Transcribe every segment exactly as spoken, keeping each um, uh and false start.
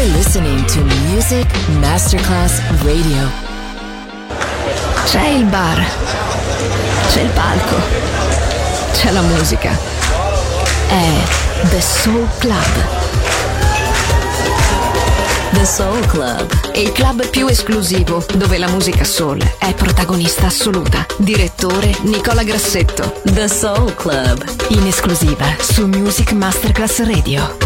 You're listening to Music Masterclass Radio. C'è il bar, c'è il palco, c'è la musica. È The Soul Club. The Soul Club, Il club più esclusivo dove la musica soul è protagonista assoluta. Direttore Nicola Grassetto. The Soul Club, In esclusiva su Music Masterclass Radio.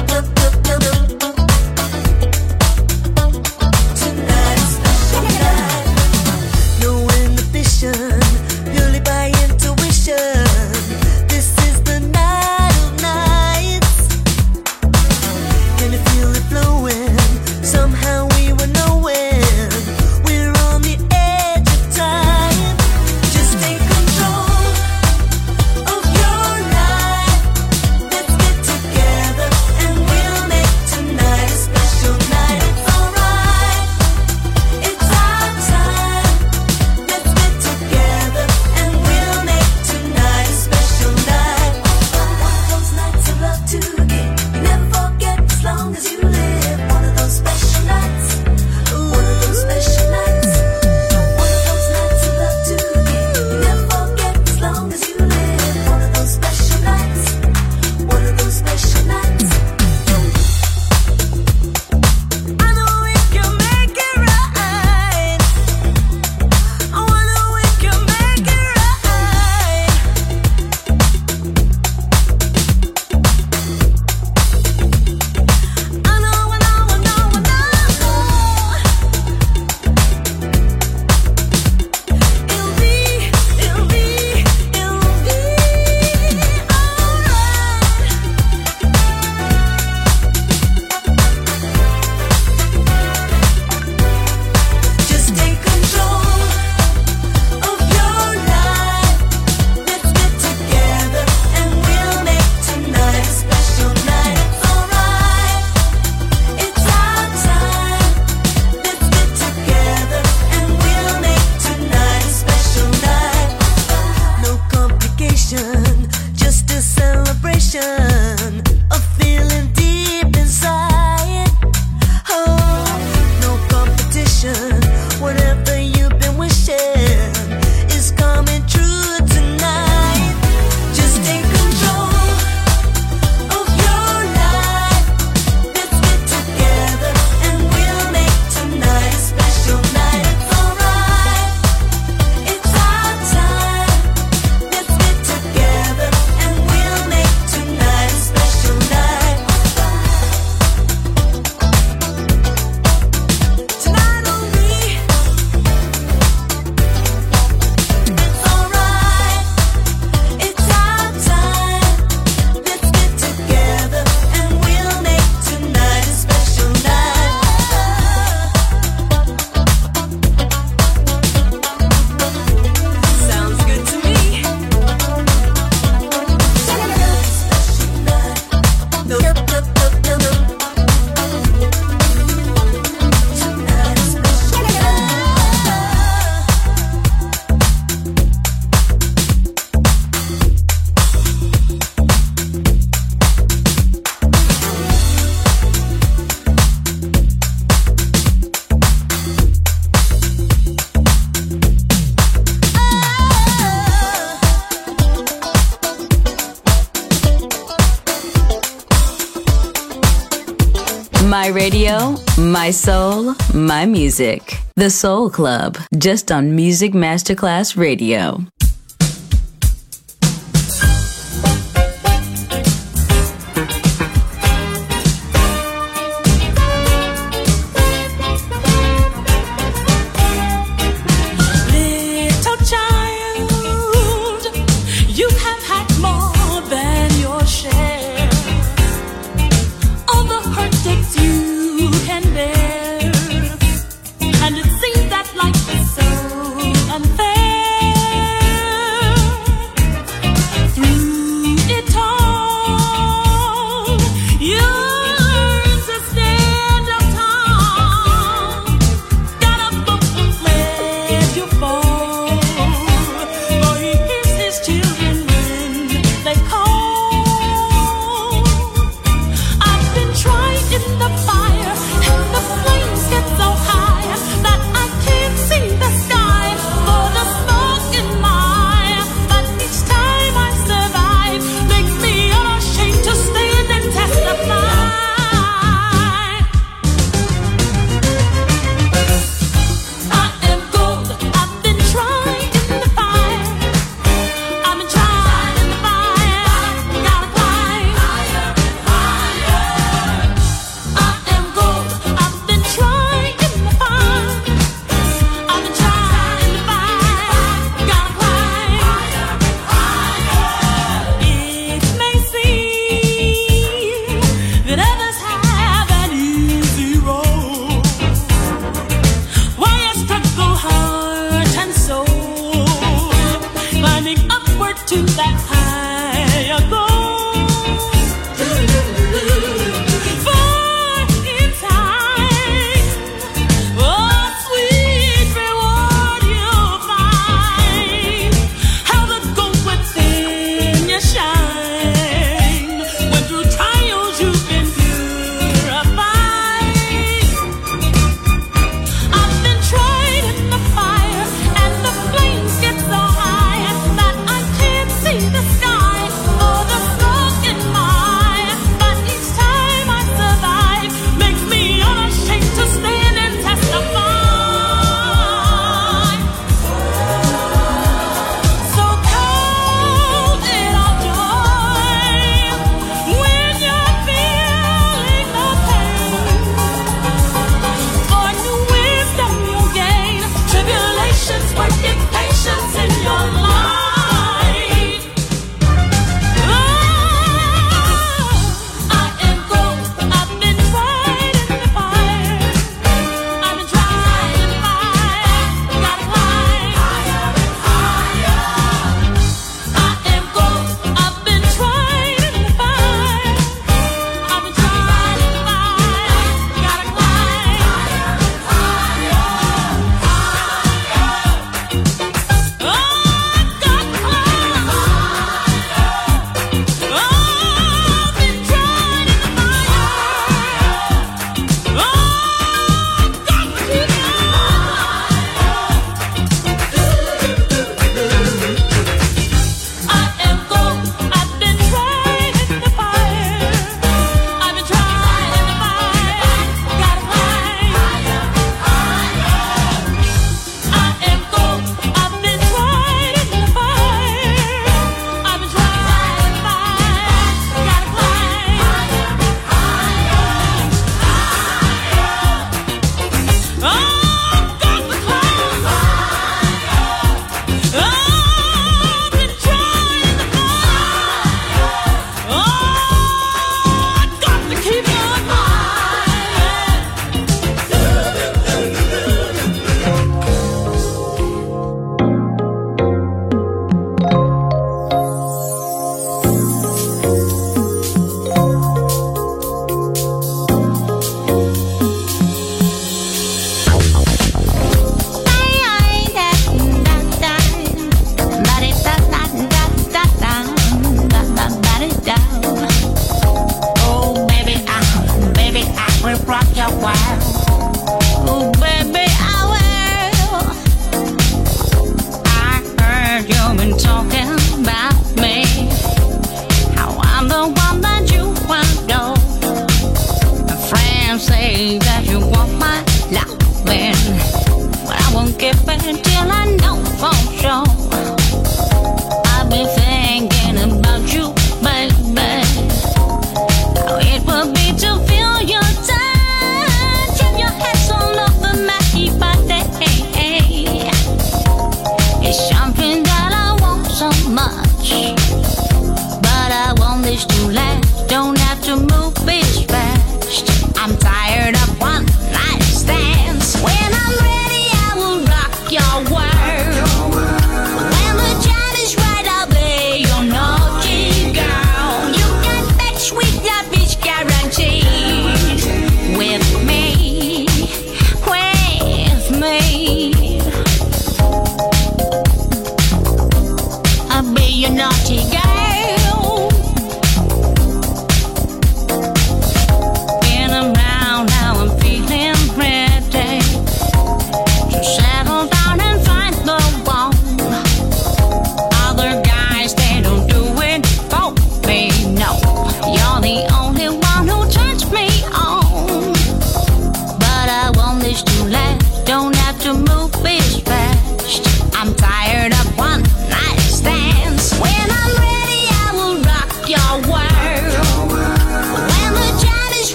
My radio, my soul, my music. The Soul Club, just on Music Masterclass Radio. And it seems that life is so unfair.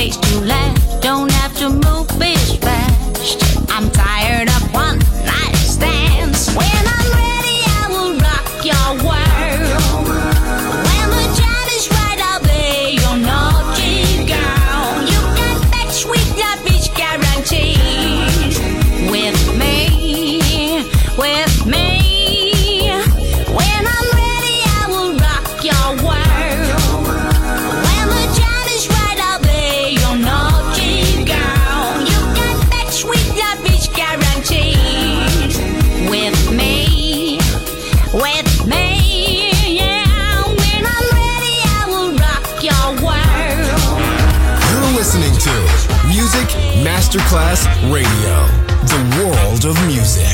place to laugh. Don't have to move as fast. I'm tired of one night stands. When I'm ready, I will rock your world. When the time is right, I'll be your naughty girl. You can bet sweet love is guaranteed. With me, with me. When I'm ready, I will rock your world. When the time is right, I'll be your naughty girl. You can bet sweet love is guaranteed. With me, with me, yeah. When I'm ready, I will rock your world. You're listening to Music Masterclass Radio, the world of music.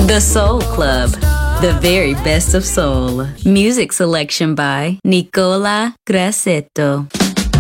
The Soul Club, the very best of soul. Music selection by Nicola Grassetto.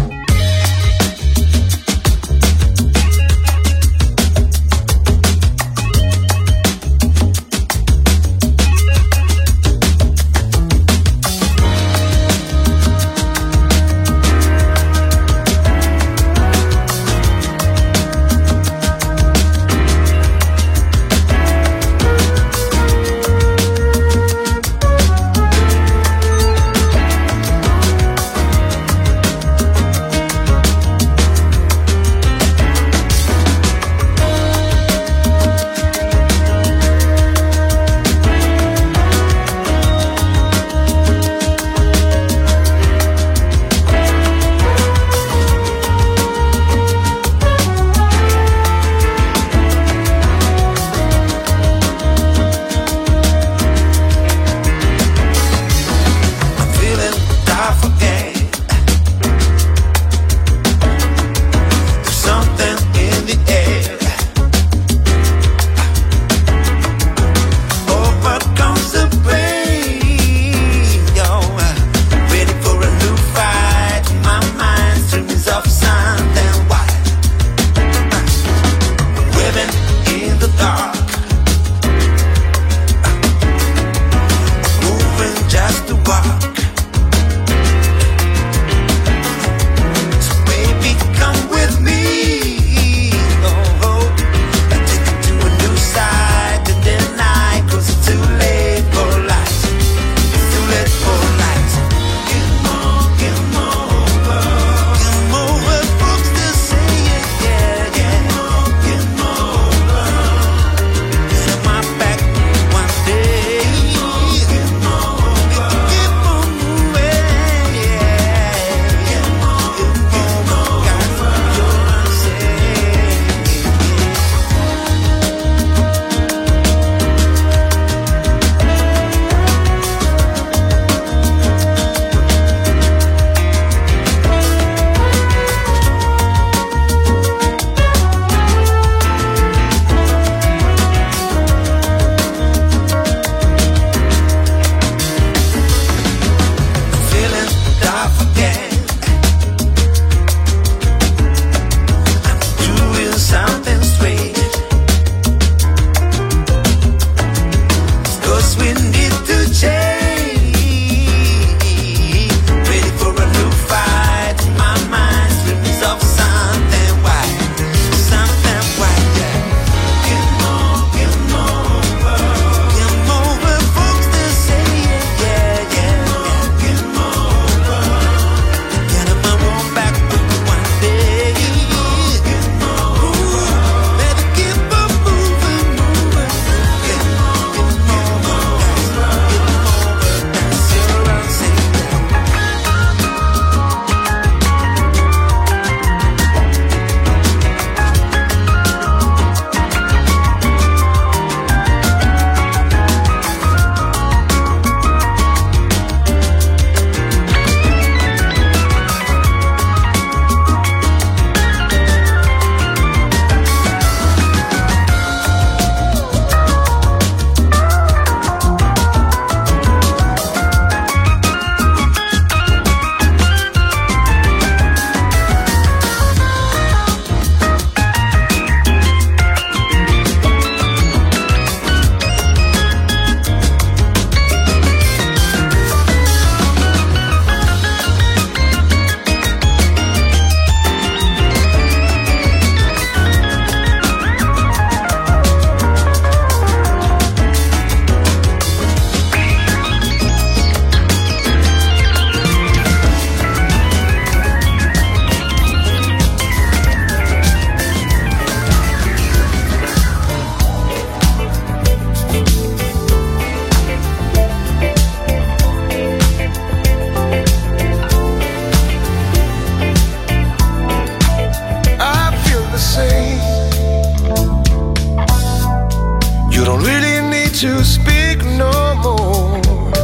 to speak no more,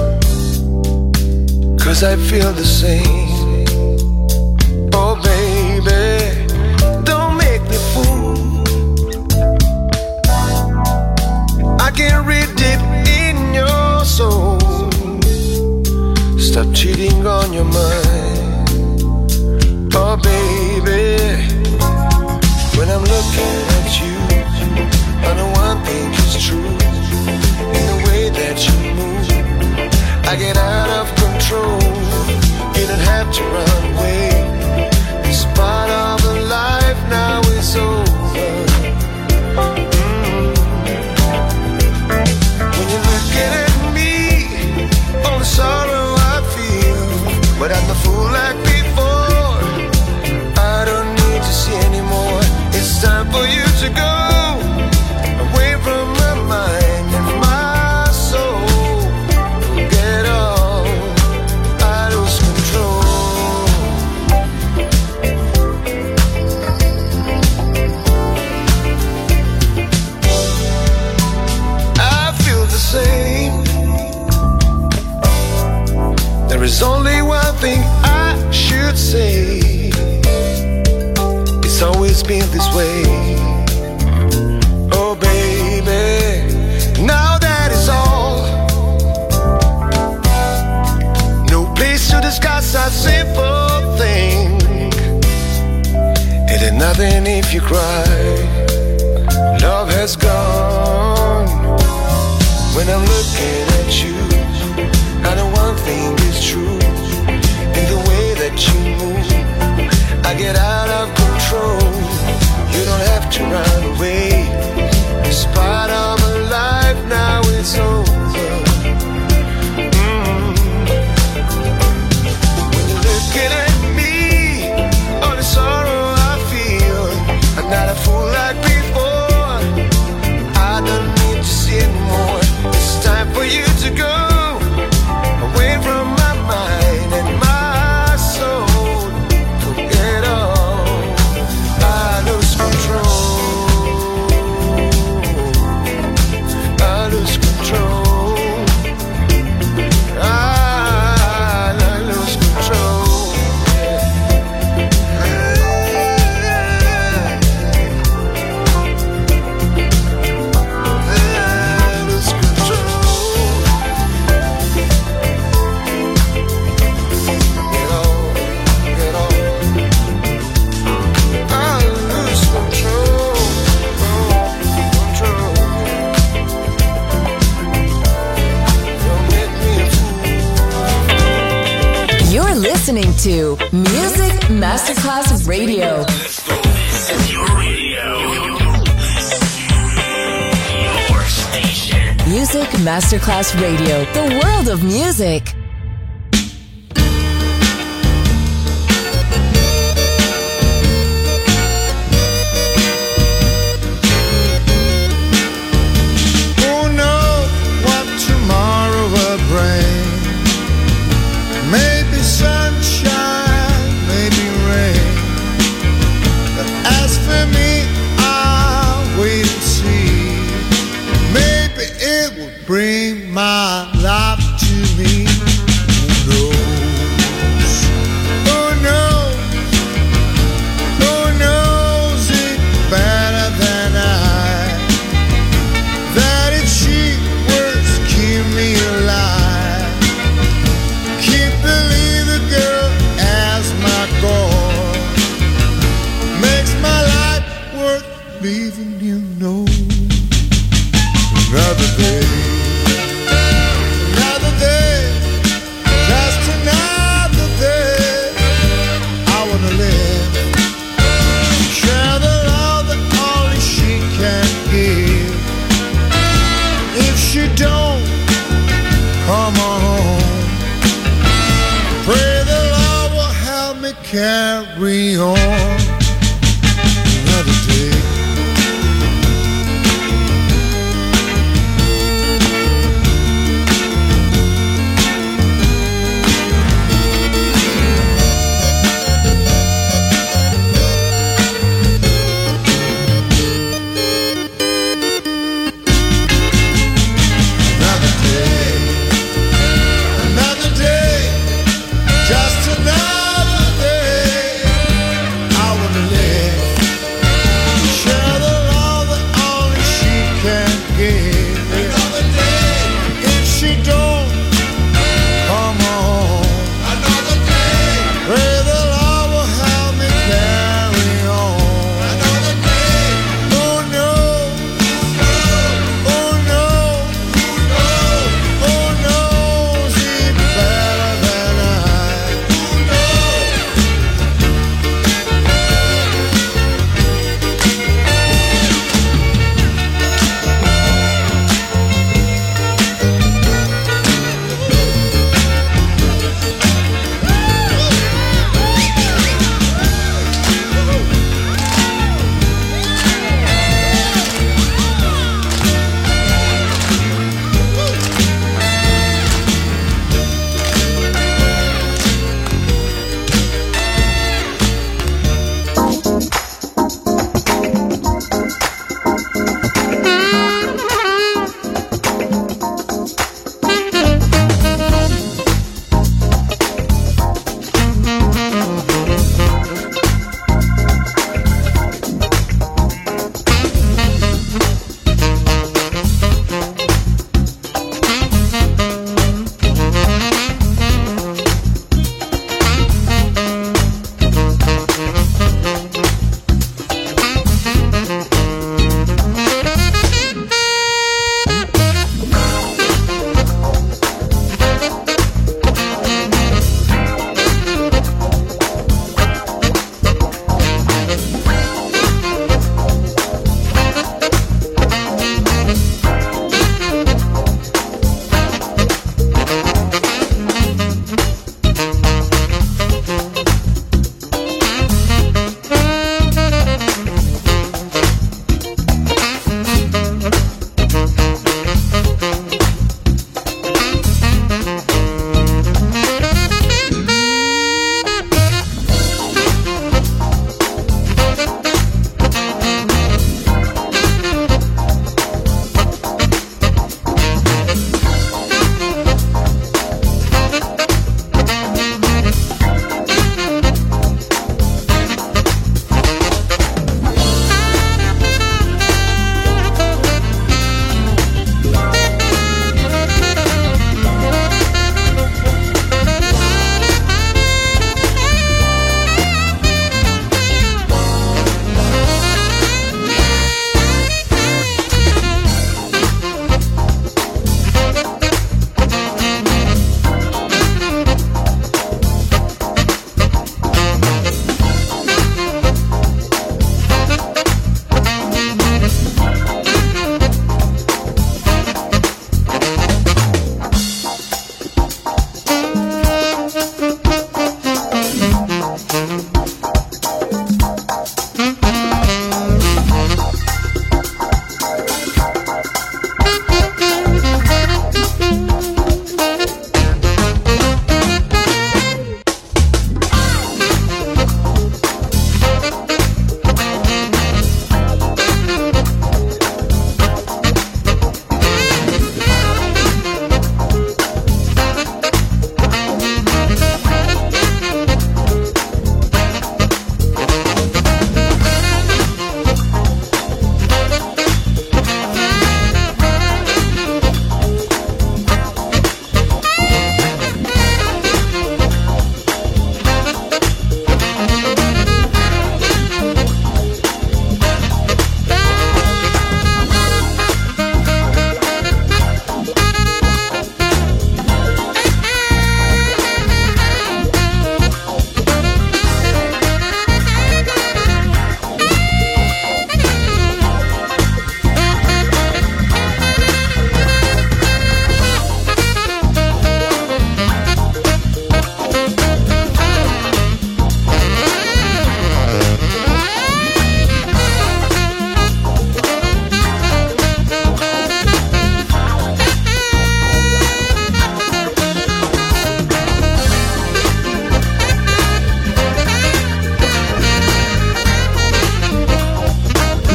'cause I feel the same. Oh baby, don't make me fool. I can't read deep in your soul. Stop cheating on your mind. Oh baby, when I'm looking at you, I know one thing is true. In the way that you move, I get out of control. You don't have to run away. This part of the life now is over. Mm. When you're looking at me, all the sorrow I feel, but I'm the fool like before. I don't need to see anymore. It's time for you to go away from my mind and my soul. Get off, I lose control. I feel the same. There is only one thing I should say. It's always been this way. Oh baby, now that is all. No place to discuss a simple thing. It ain't nothing if you cry. Love has gone. When I'm looking at you, I know one thing is true. In the way that you move, I get out of control. You don't have to run away. This part of my life now is over. Mm. When you're looking at me, all the sorrow I feel, I'm not a fool like before. I don't need to see anymore. It's time for you to go away from my mind and my soul. Forget all, I lose control. I lose control. I, I lose control. I lose control. Get on, get on. I lose control. Control. Don't make me a fool. You're listening to Music Masterclass Radio. Your radio. Your station. Music Masterclass Radio. The world of music. Who knows what tomorrow will bring? Maybe sunshine, maybe rain. But as for me, I'll wait and see. Maybe it will bring my life to me. Who knows? Who knows? Who knows it better than I? That it's she words keep me alive. Keep believing, girl, as my goal. Makes my life worth leaving, you know. Another day, another day, just another day. I wanna live, share the love that only she can give. If she don't come on home, pray the Lord will help me carry on. Another day. Another day. Another day. Just another day. I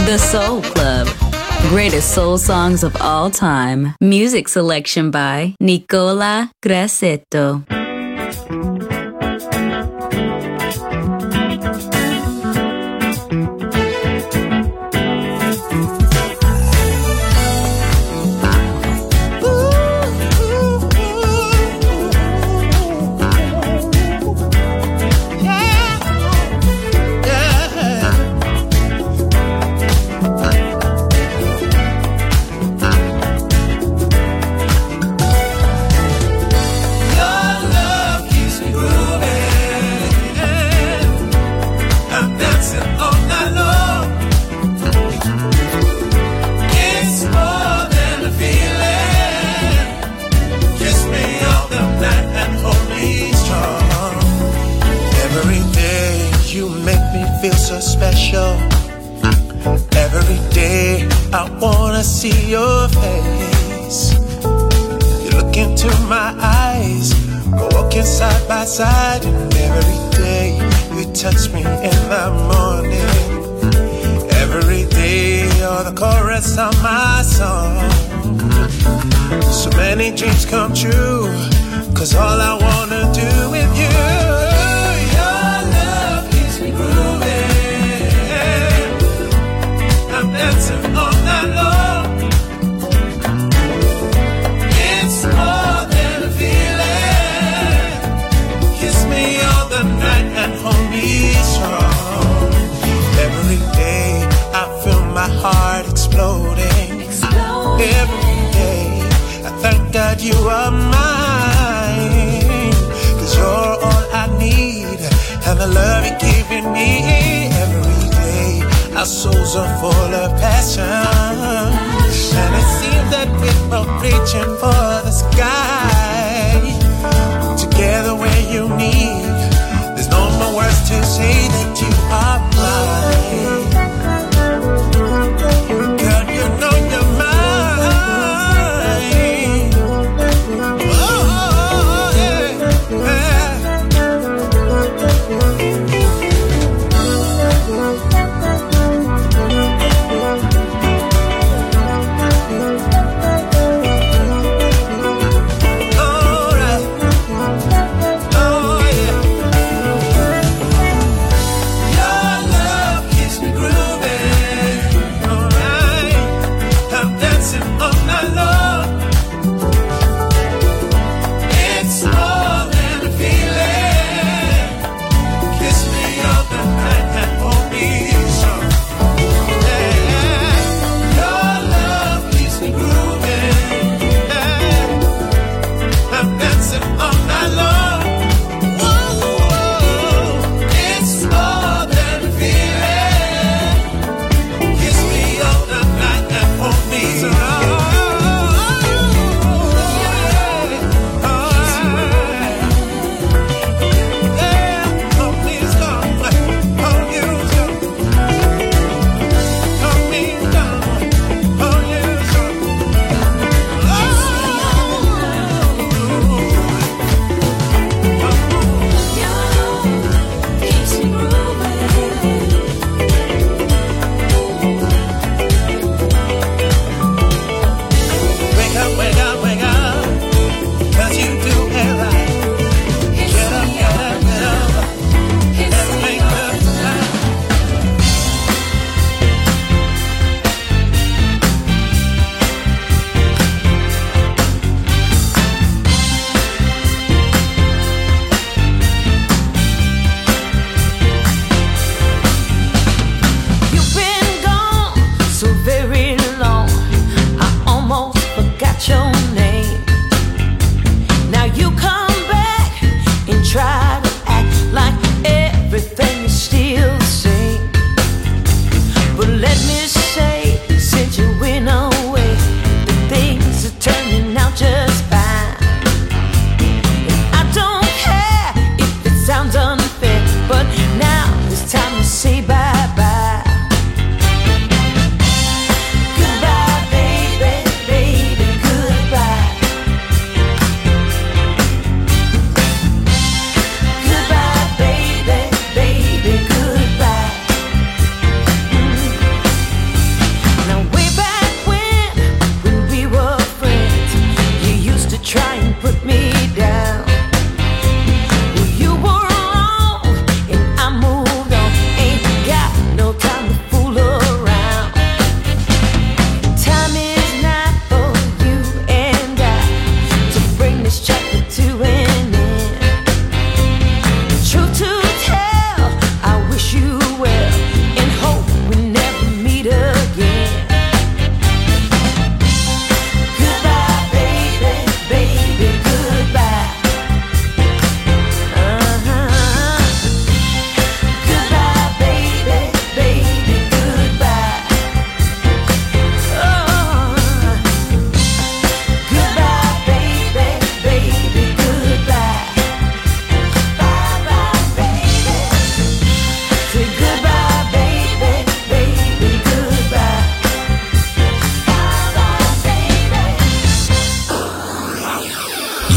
The Soul Club. Greatest soul songs of all time. Music selection by Nicola Grassetto. See your face. You look into my eyes. We're walking side by side, and every day you touch me in the morning. Every day you're the chorus of my song. So many dreams come true, 'cause all I wanna do with you. Your love keeps me grooving. I'm dancing all night long. More than a feeling. Kiss me all the night and hold me strong. Every day I feel my heart exploding. Exploding. Every day I thank God you are mine. 'Cause you're all I need, and the love you're giving me. Every day our souls are full of passion, and it seems that we're both reaching for the sky. Together where you need, there's no more words to say that you are mine. Girl, you know you're mine. Oh, yeah, yeah.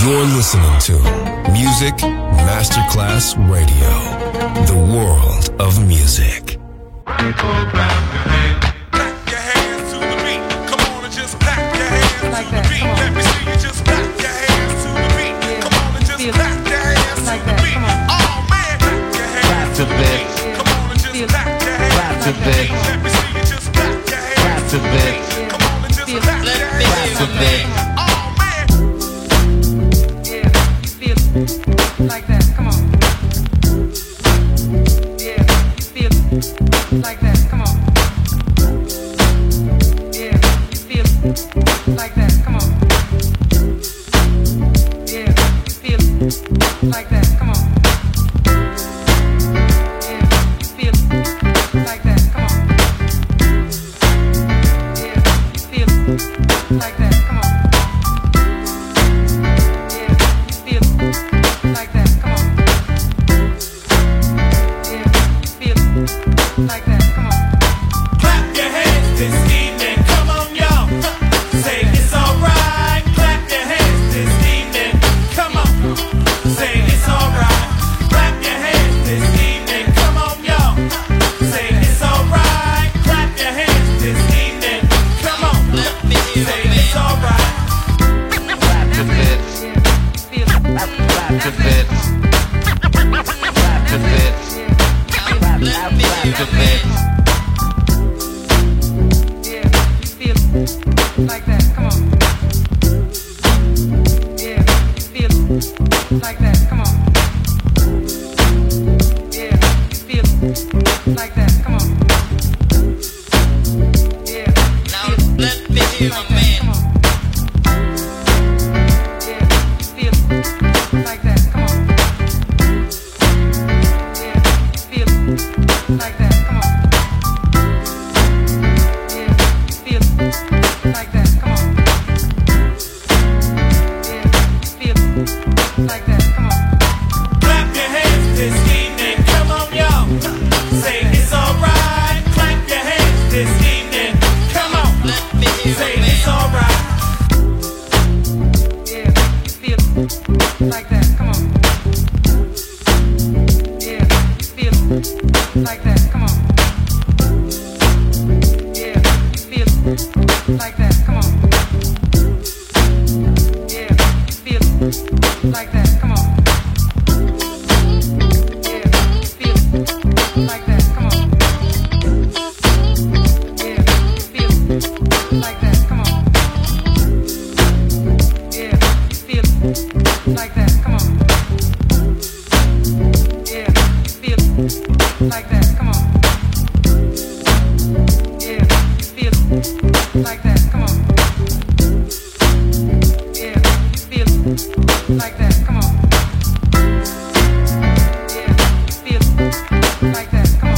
You're listening to Music Masterclass Radio, the world of music. Clap your hands to the beat. Come on and just clap your hands like to that. the beat. Come on. Let me see you just clap your hands to the beat. Yeah. Come on and just Feel clap your hands like to the that. beat. Come on. Oh man, clap your hands to the beat. Come on and just Feel clap your hands clap to to the beat. Let me see you just clap your hands to the beat. Come on and just Feel clap your hands to the beat. Oh man. Yeah, feel like that. Come on. Yeah, feel like that. Come on. Yeah, feel like that. Come on. Yeah, feel like that. Come on. Yeah, feel like that. Come on. Yeah, feel like that. Come on. Feel like that, come on. Yeah, feel like that, come on. Clap your hands this evening. Come on, y'all. Say it's alright. Clap your hands this evening. Come on. Say it's alright. Clap your hands this evening. Come on, y'all. Say it's alright. Clap your hands this evening. Come on. Say it's alright. Clap your hands. Feel Clap your hands. Clap your hands. Clap your hands. Yeah, feel like that, come on. Yeah, feel like that, come on. Yeah, feel like that, come on. Yeah, Now let me hear my man. come on. Yeah, feel like that, come on. Yeah, feel like that, come on. Yeah, feel like that, come on. Yeah, feel like that, come on. Clap your hands this evening. Come on, y'all. Say it's alright. Clap your hands this evening. Come on. Say it's alright. Yeah, feel like that, come on. Yeah, feel like that, come on. Yeah, feel like that, come on. Yeah, feel like that, come on. Yeah, feel like that, come on. Yeah, feel like that, come on. Yeah, feel like that, come on. Yeah, feel like that, come on. Yeah, feel like that, come on. Yeah, feel like that, come on. Yeah, feel like that, come on.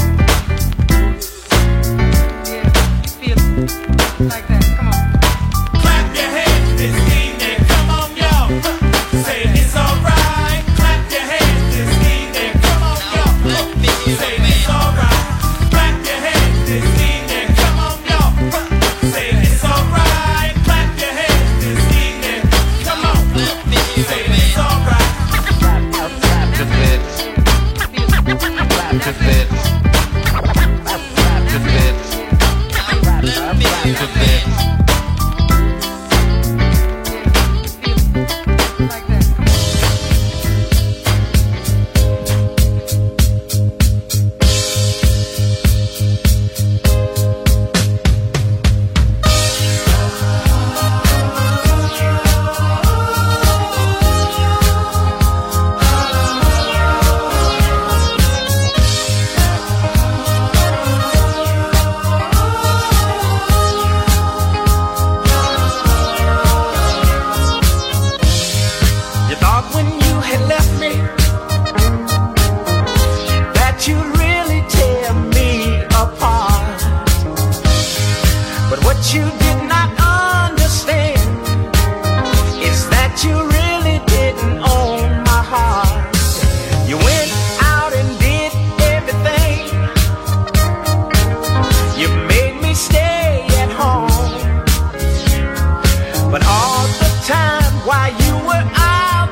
Yeah, feel like that, come on. Clap your hands this evening. Come on, y'all. Say it's alright. Clap your hands this evening. Come on, y'all. Say it's alright. Clap your hands this evening. Come on, y'all. Say it's alright. Clap your hands this evening. Come on. Say it's alright. Clap your hands. Clap your hands. Clap your hands. Clap your hands. Like that. You thought when you had left me that you'd really tear me apart. But what you did not understand is that you really didn't own my heart. You went out and did everything. You made me stay at home. But all the time while you were out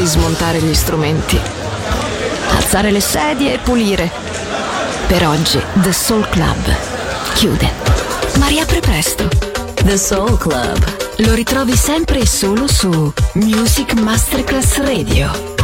smontare gli strumenti, alzare le sedie e pulire. Per oggi The Soul Club chiude, ma riapre presto. The Soul Club. Lo ritrovi sempre e solo su Music Masterclass Radio.